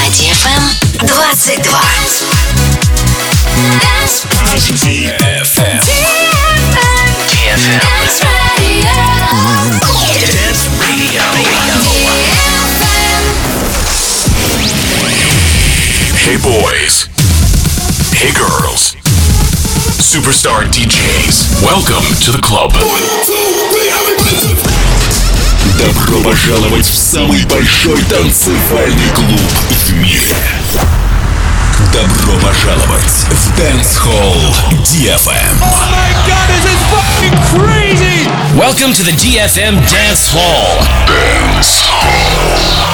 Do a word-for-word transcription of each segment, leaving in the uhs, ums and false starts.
ди эф эм двадцать два. ди эф эм. ди эф эм. Dance Radio. Hey boys. Hey girls. Superstar ди джейс. Welcome to the club. Добро пожаловать в самый большой танцевальный клуб в мире. Добро пожаловать в Dance Hall ди эф эм. Oh my god, this is fucking crazy! Welcome to the ди эф эм Dance Hall. Dance Hall.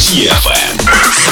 ди эф эм.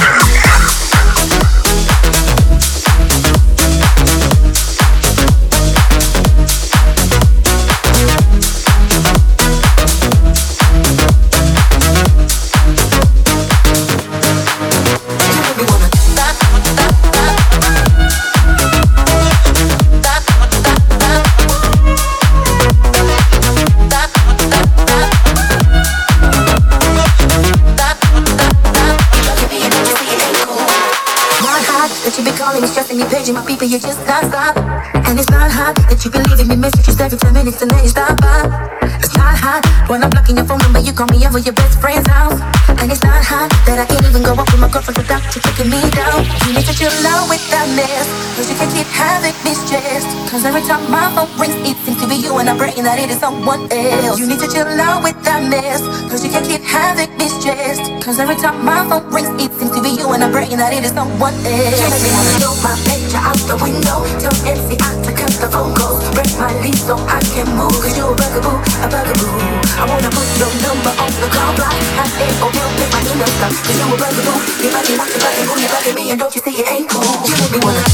Stressing me, paging my people, you just can't stop. And it's not hot that you be leaving me messages every ten minutes and then you stop by. It's not hot when I'm blocking your phone number, you call me over your best friend's house. And it's not hot that I can't even go up with my girlfriend without you kicking me down. You need to chill out with that mess, cause you can't keep having me stressed. Cause every time my phone rings, it seems to be you and I'm praying that it is someone else. You need to chill out with that mess, cause you can't keep having me stressed. Cause every time my phone rings, it seems to be you and I'm praying that it is someone else. You make me wanna throw my picture out the window, tell M C I to cut the phone calls, break my lease so I can move. Cause you're a bugaboo, a bugaboo. I wanna put your number on the call block, I say, oh, you make my email stop. Cause you're a bugaboo, you bugging, want to bugging, boo, you bugging me, and don't you see it ain't cool. You make me wanna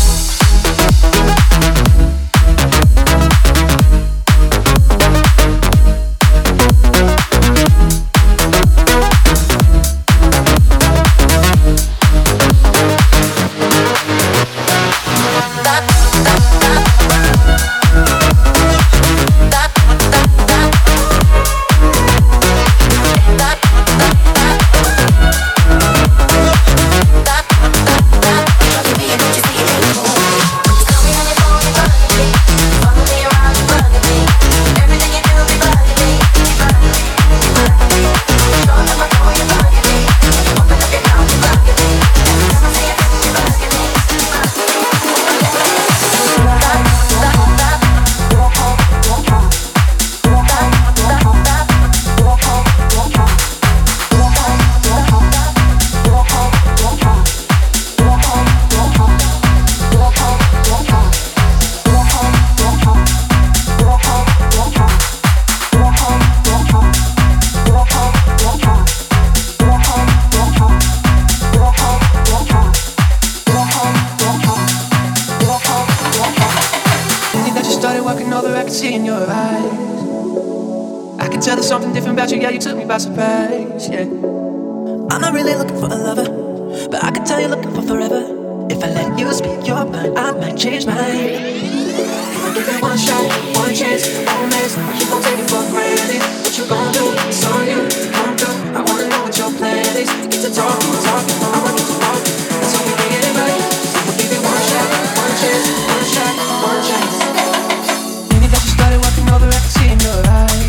by surprise, yeah. I'm not really looking for a lover, but I can tell you're looking for forever. If I let you speak your mind, I might change mine. If I give it one shot, one chance, one mess, you gon' take it for granted. What you gon' do? It's on you, come through. I wanna know what your plan is. Get to talking, talking, I'ma get to walking. That's how we get it right. I'ma give it one shot, one chance, one shot, one chance. Maybe that you started walking over, I can see in your eyes.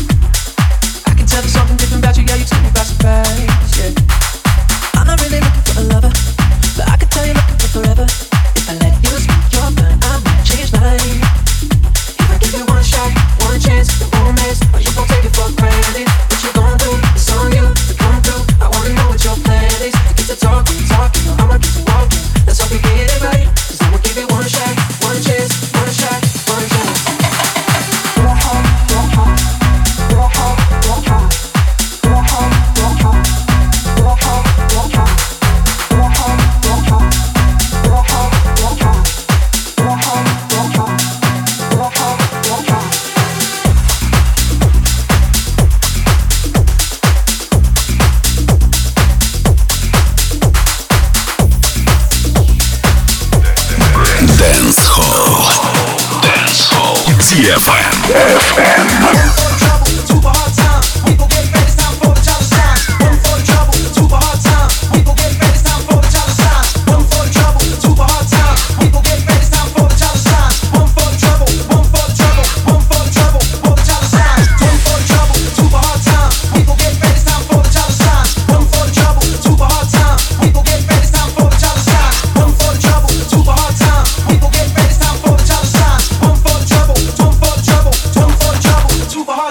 There's something different about you, yeah, you took me by surprise, yeah. I'm not really looking for a lover, but I can tell you're looking for forever. If I let you speak your mind, I might change mine. If I give you one shot, one chance, it won't miss, or you gon' take it for granted. What you gon' do? It's on you to come through. I wanna know what your plan is. Get to talking, talking, or I'ma get to walking. Let's hope we get it right, cause I'ma give it one shot, one chance, one shot, one chance. Dance Hall. Dance Hall. ди эф эм. эф эм. Super hard.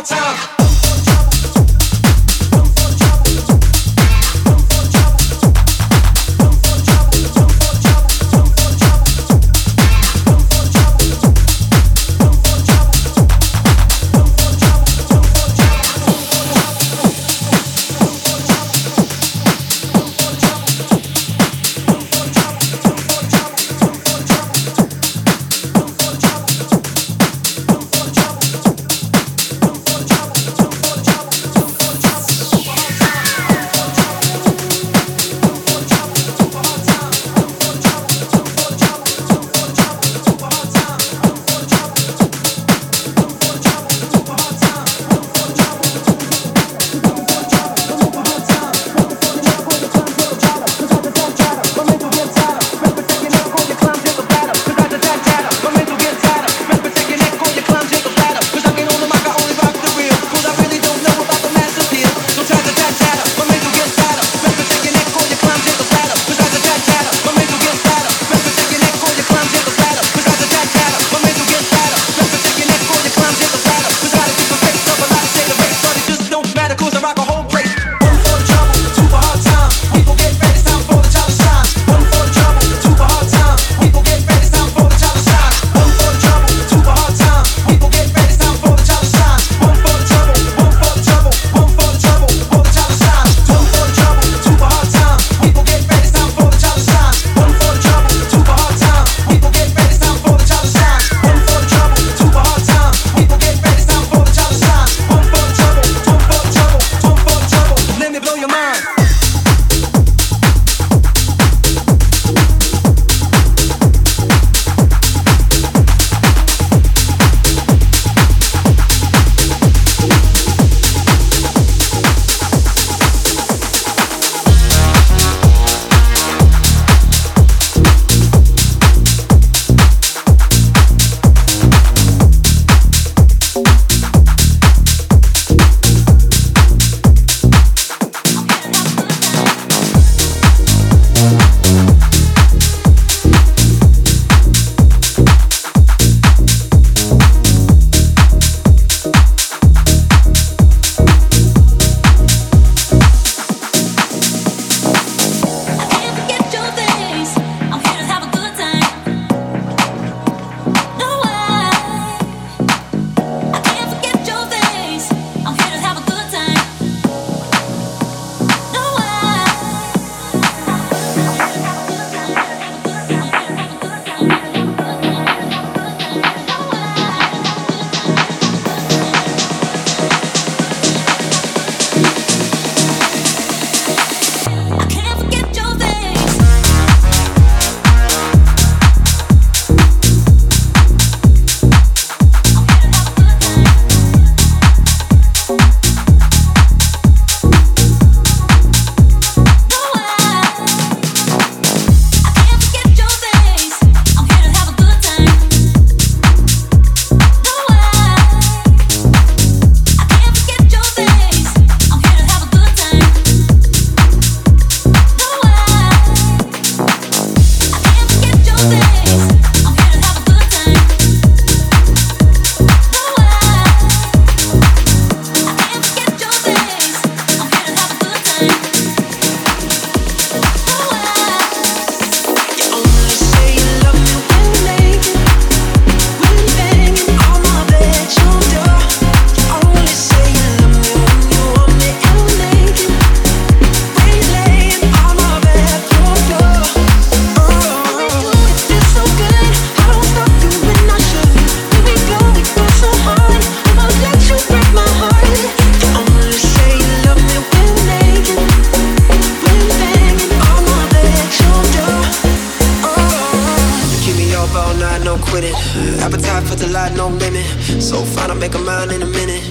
up all night, no quitting. Appetite for the light, no limit. So fine, I'll make a mind in a minute.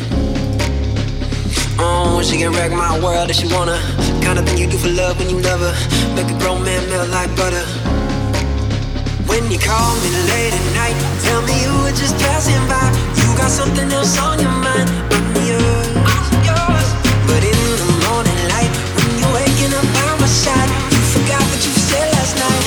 Oh, she can wreck my world if she wanna. Kind of thing you do for love when you love her. Make a grown man melt like butter. When you call me late at night, tell me you were just passing by. You got something else on your mind. I'm yours. But in the morning light, when you're waking up by my side, you forgot what you said last night.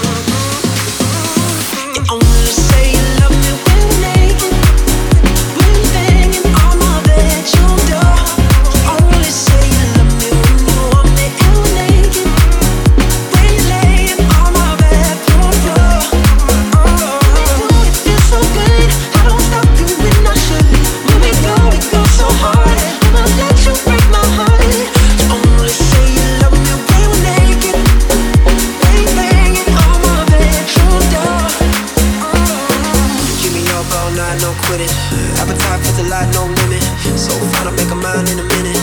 You only say you love me when we're naked, when you're banging on my bedroom door. You only say you love me when you want me and we're naked, when you're laying on my bedroom floor. Oh, it feels so good. I don't stop you when I should. When we go, we go so hard. I'ma let you break my heart. You only say you love me when we're naked, when you're banging on my bedroom door. Keep me up all night, no quitting. Appetite for the light, no limit. So fine, I'll make a mind in a minute.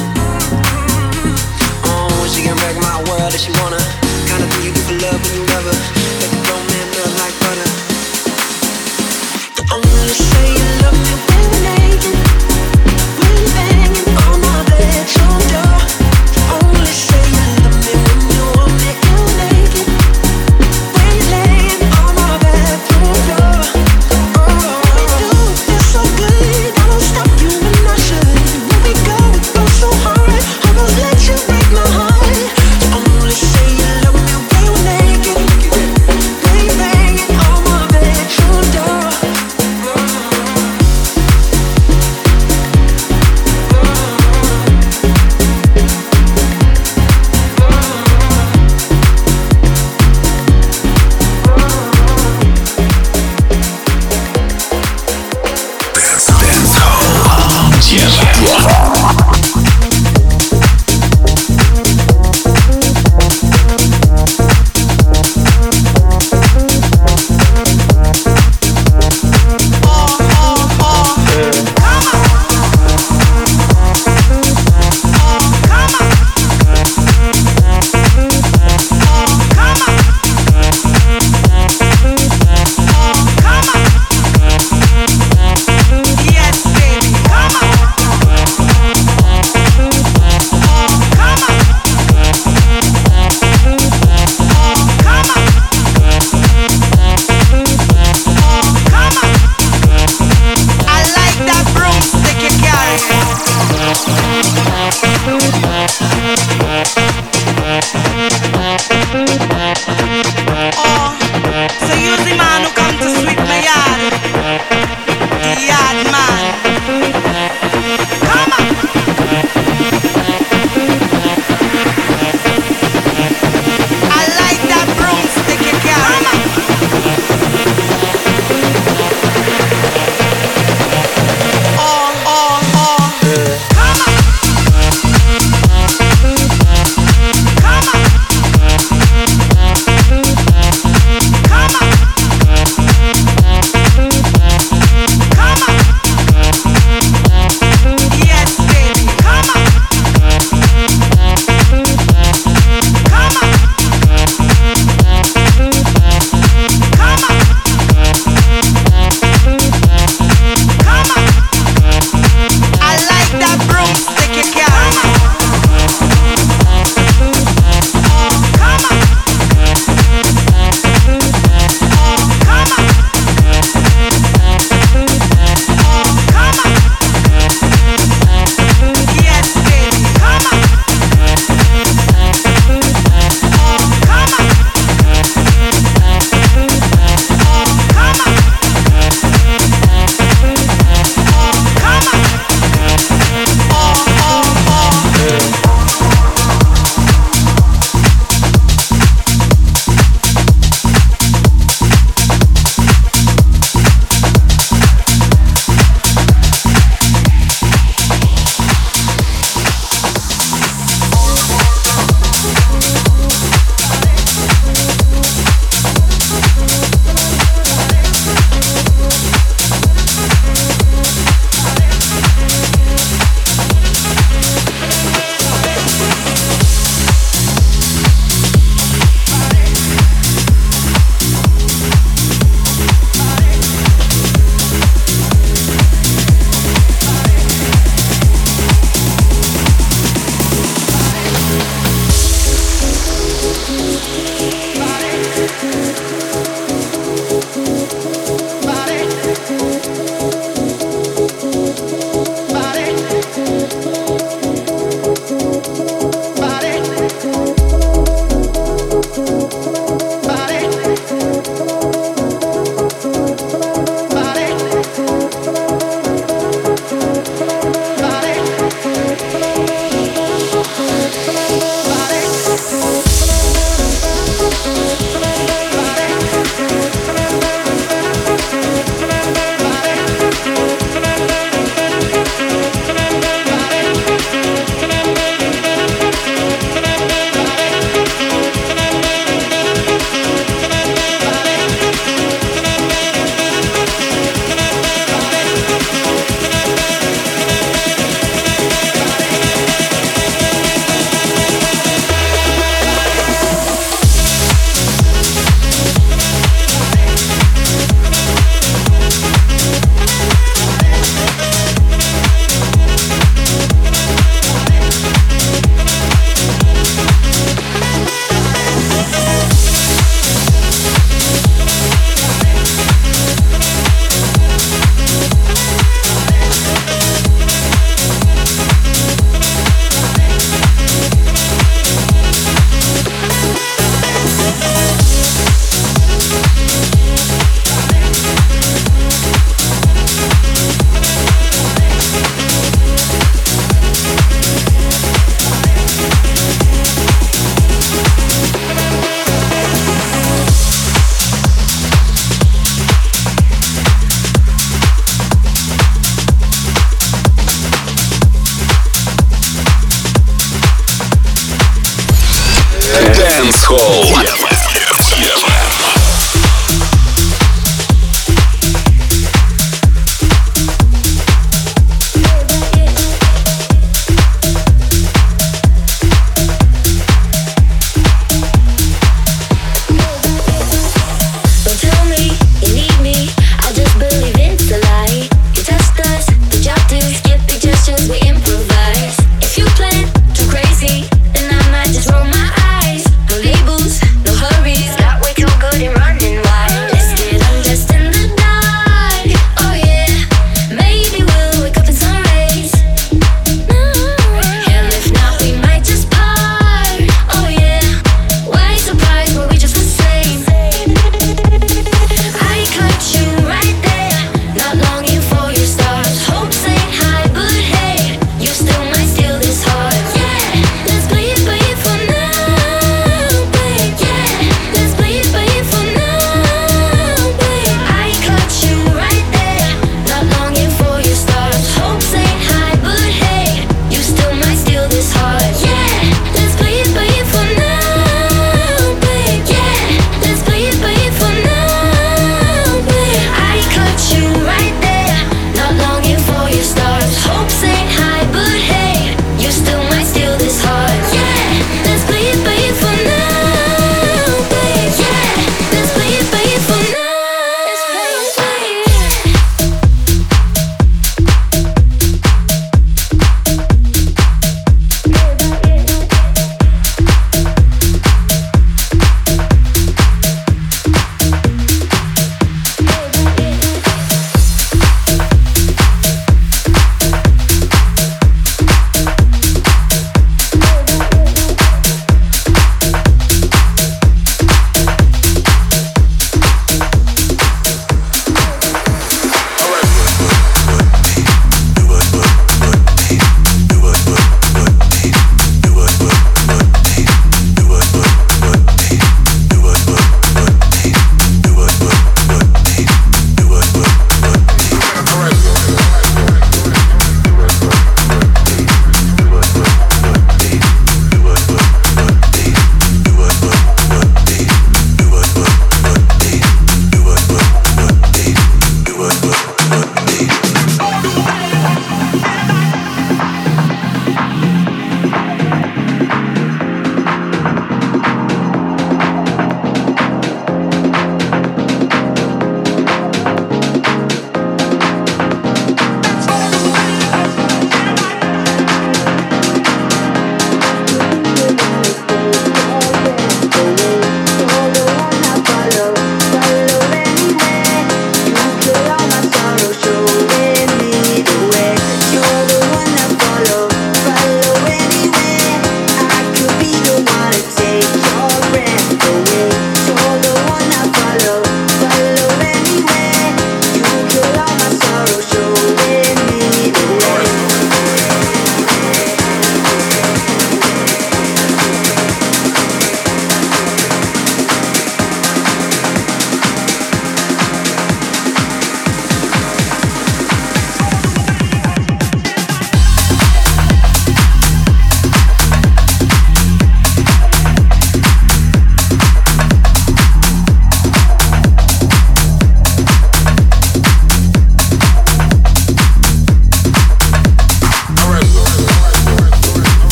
Oh, she can wreck my world if she wanna. Kind of thing you do for love when you love her. Make a grown man melt like butter. You only say you love me when we're naked, when you're banging on my bedroom door. You only say you love me when you want me and we're naked, when you're laying on my bedroom floor. We do it feel so good. I don't stop you when I should. When we go, we go so hard. I won't let you break my heart. You only say you love me when we're naked, when you're banging on my bedroom door.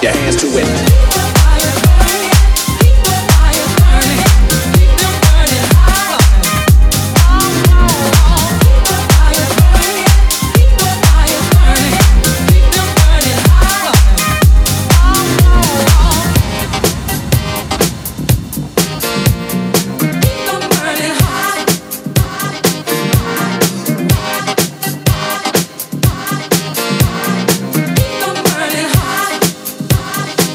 your hands to it. Burning hot.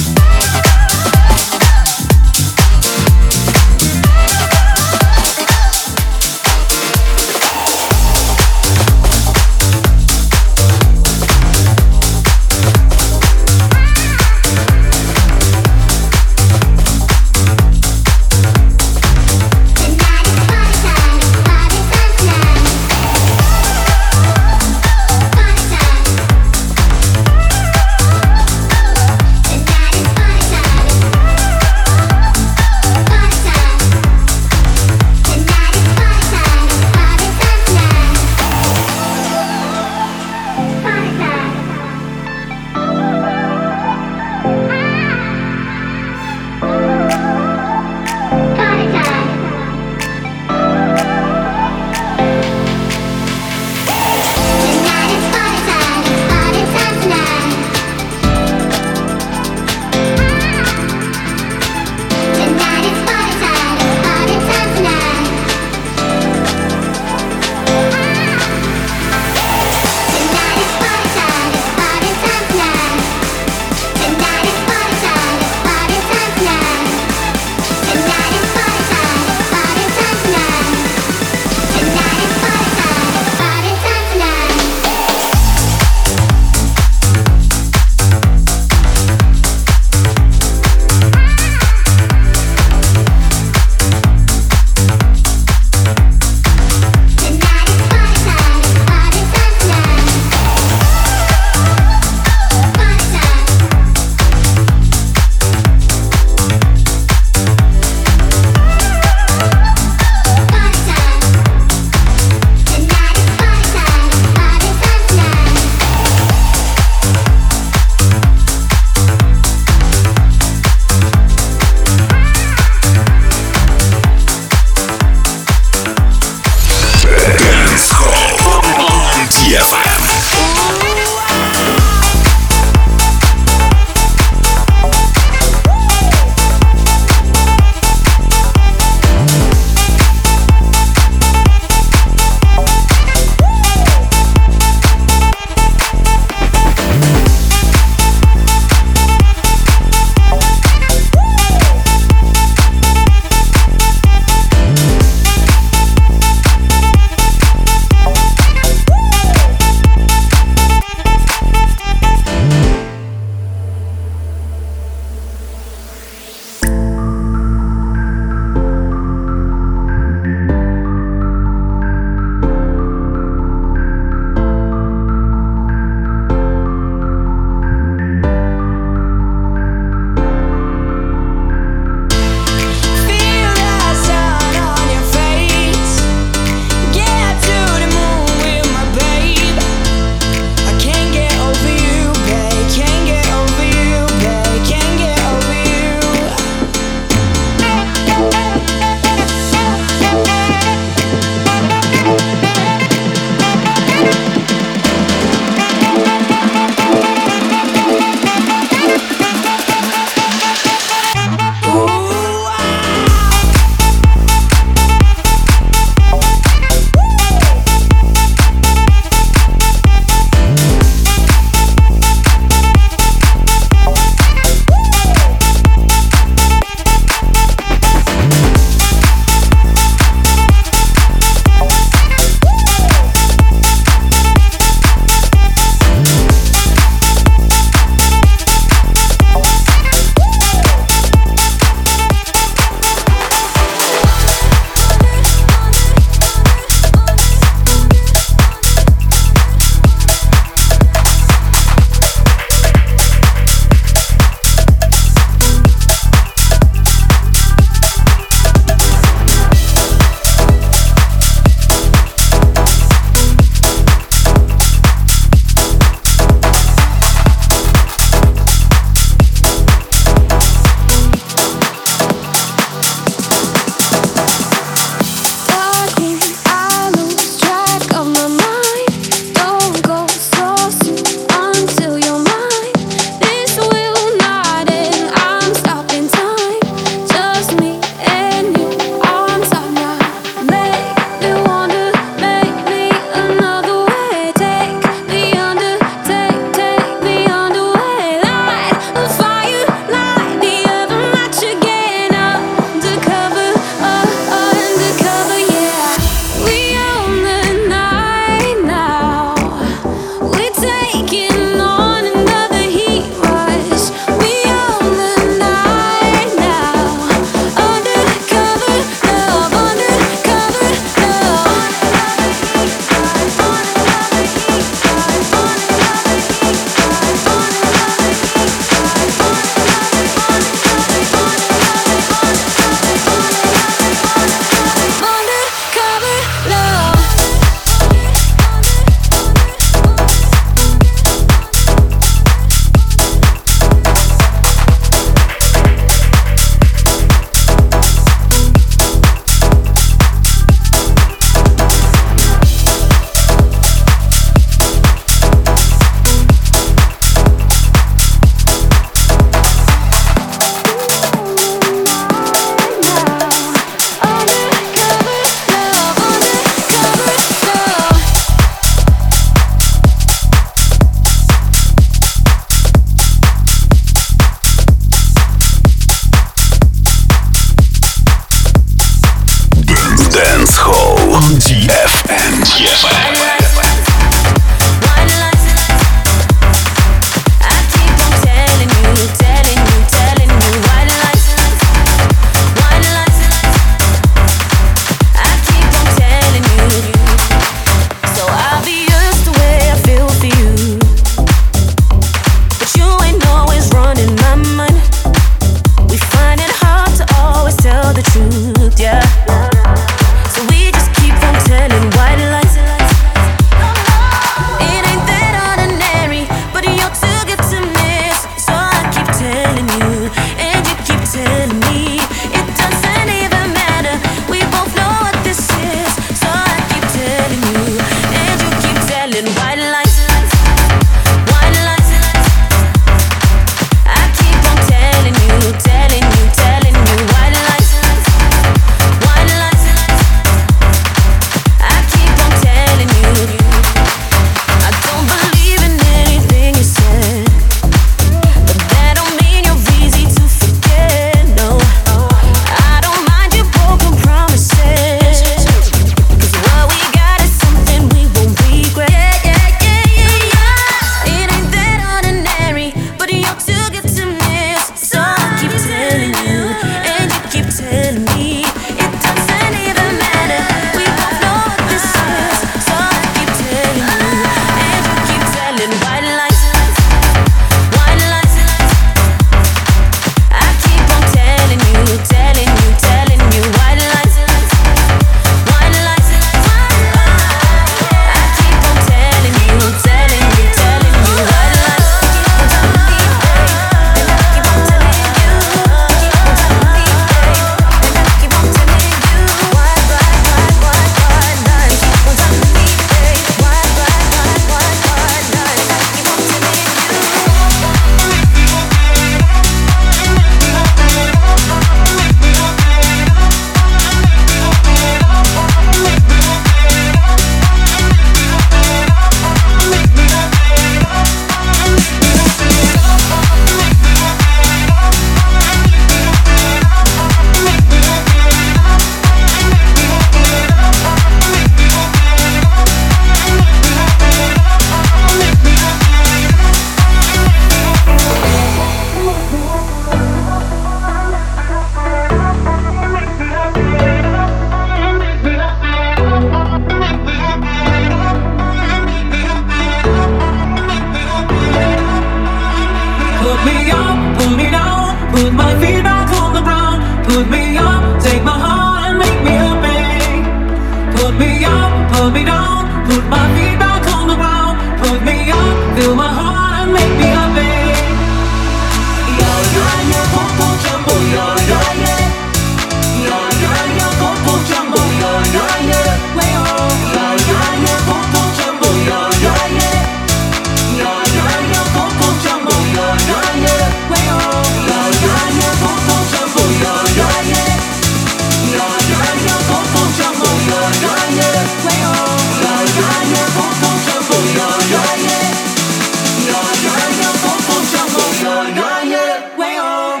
Put my feet back on the ground, put me up, fill my heart and make me happy. Yo, yo, yo, popo jumbo, yo, yo, yeah. Yo, yo, yo, popo jumbo, yo, yo, yeah. Way oh, yo, yo, yo, popo jumbo, yo, yo, yeah. Yo, yo, yo, popo jumbo, yo, yo, yeah. Way oh, yo, yo, yo, popo jumbo, yo, yo, yeah. Yo, yo, yo, popo jumbo, yo, yo, yeah. Way oh, yo, yo, yo, popo jumbo, yo, yo, yeah. Yo, yo, yo, popo jumbo, yo, yo, yeah. Way oh.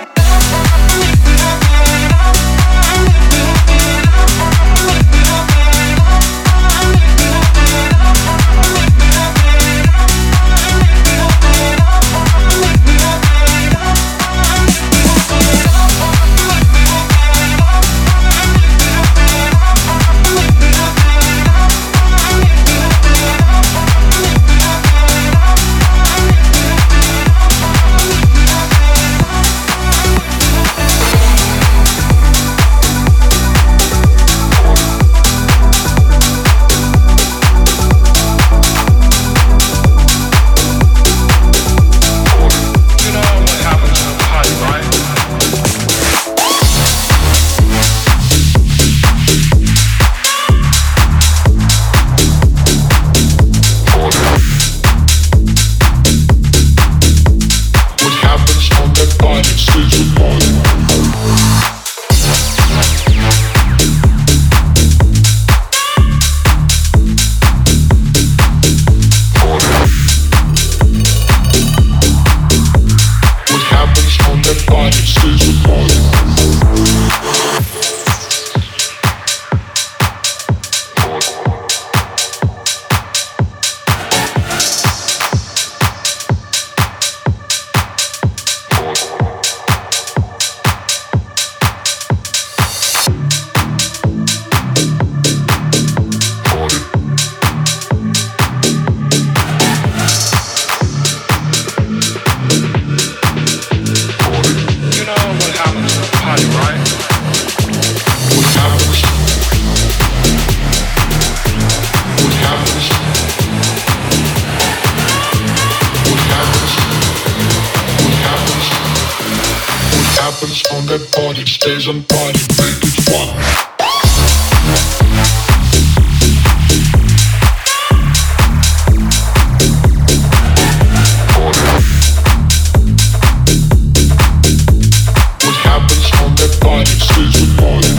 Stays on party, make it fun. What happens on that party stays on party.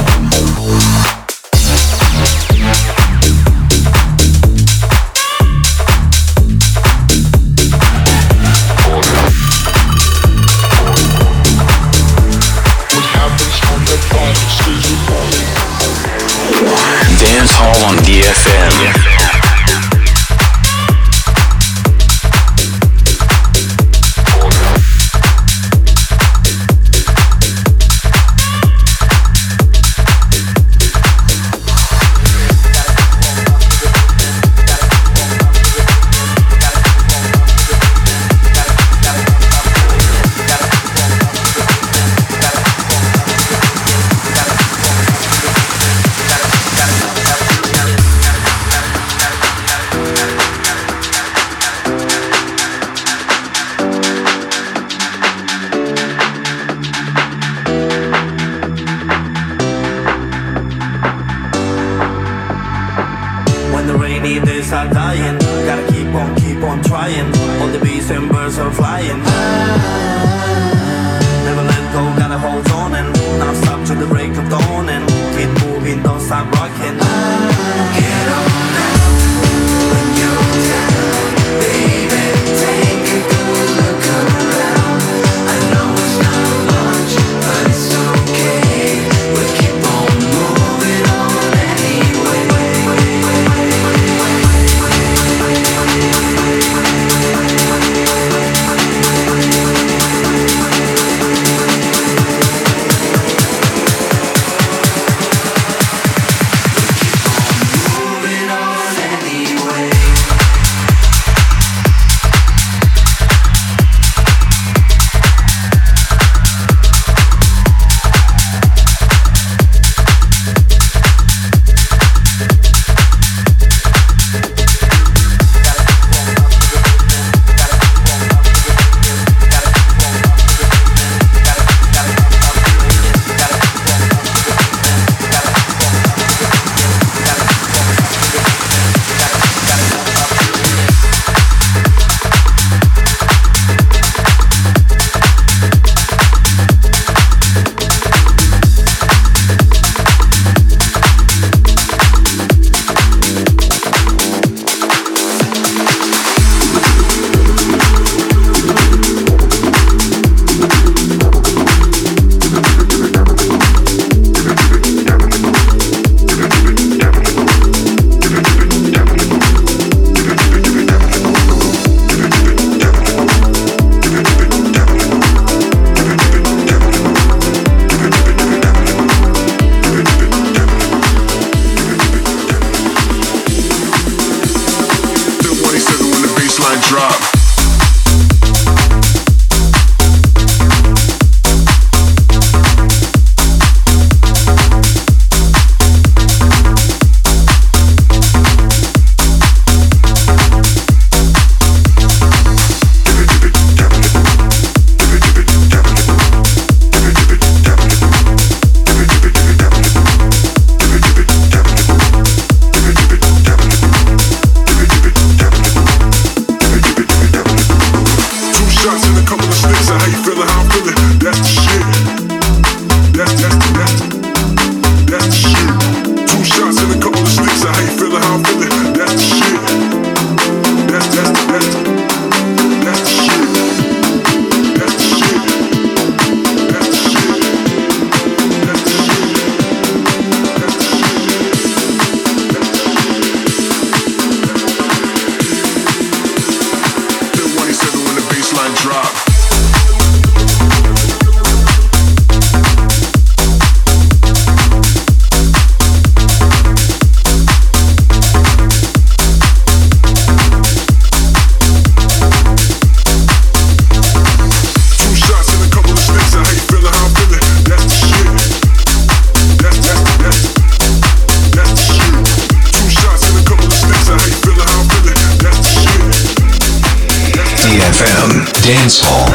Dance Hall on D F M. sticks, and how you feeling, how I'm feeling. That's the shit. That's that's the that's the that's the shit. Two shots and a couple of sticks, and how you feeling, how I'm feeling. That's the shit. That's that's the that's the that's the shit. That's the shit. That's the shit. That's the shit. That's the shit. Then one eighty-seven when the baseline drop. F M Dance Hall.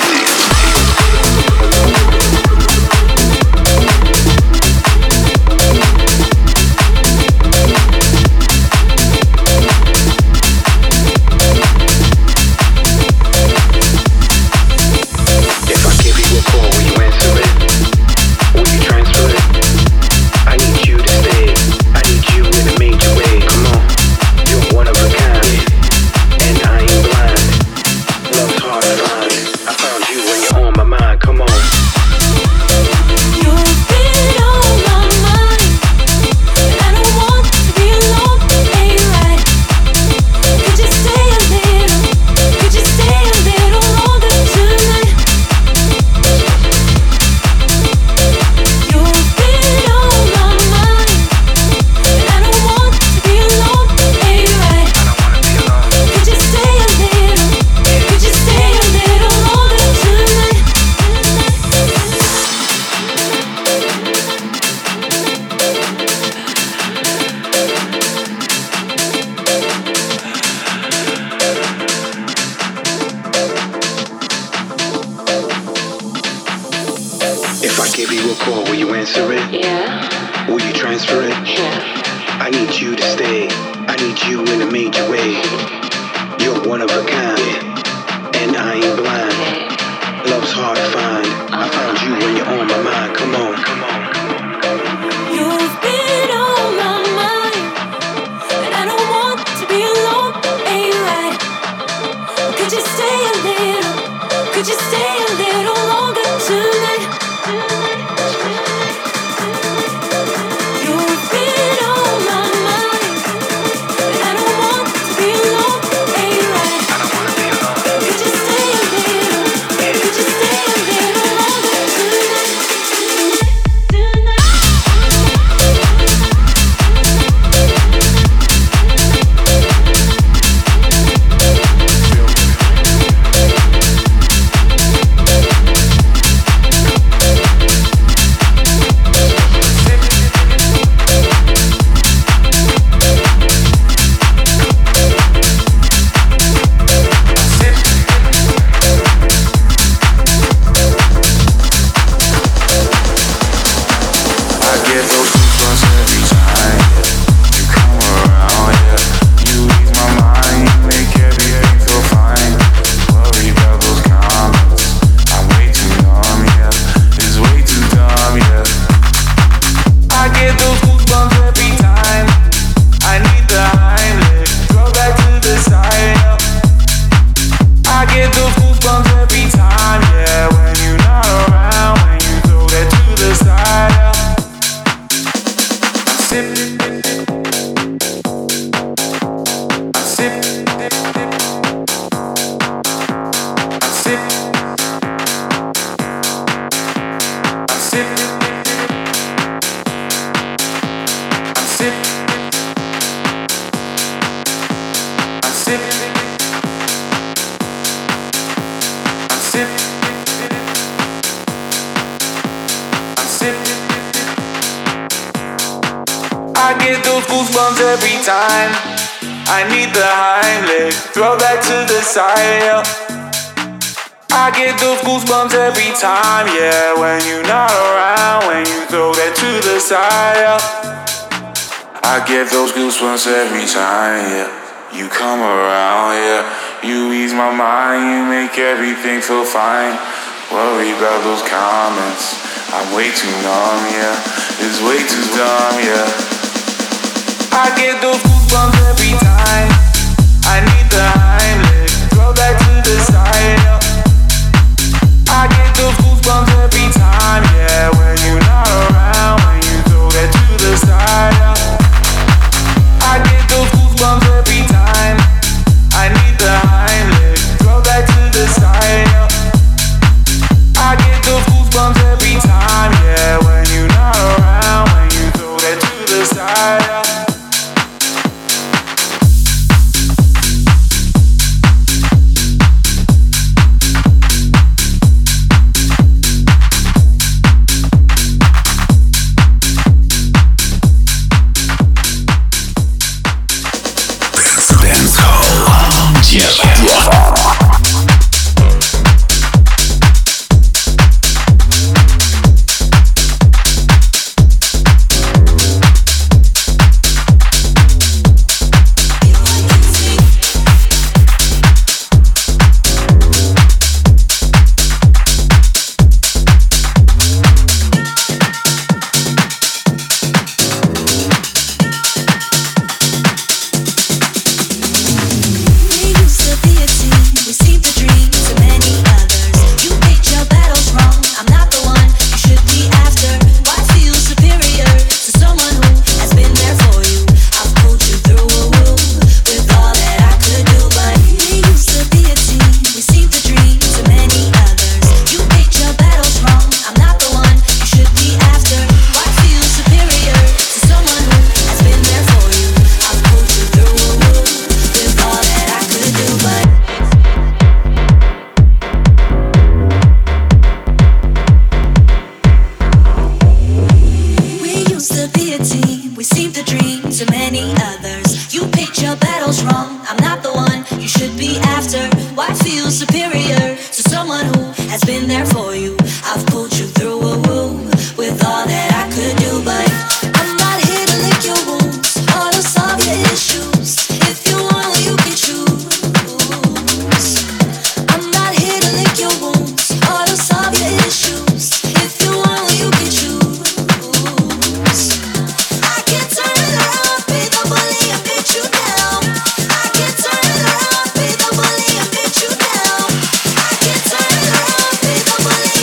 Every time I need the Heimlich, throw that to the side, yeah. I get those goosebumps every time, yeah. When you're not around, when you throw that to the side, yeah. I get those goosebumps every time, yeah. You come around, yeah. You ease my mind, you make everything feel fine. Worry about those comments, I'm way too numb, yeah. It's way too dumb, yeah. I get those goosebumps every time. I need the Heimlich, throw that to the side, yeah. I get those goosebumps every time, yeah. When you're not around, when you throw that to the side, yeah. I get those goosebumps every time. I need the Heimlich, throw that to the side, yeah. I get those goosebumps every time, yeah. When you're not around, when you throw that to the side, yeah. Believe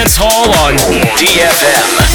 Dance Hall on D F M.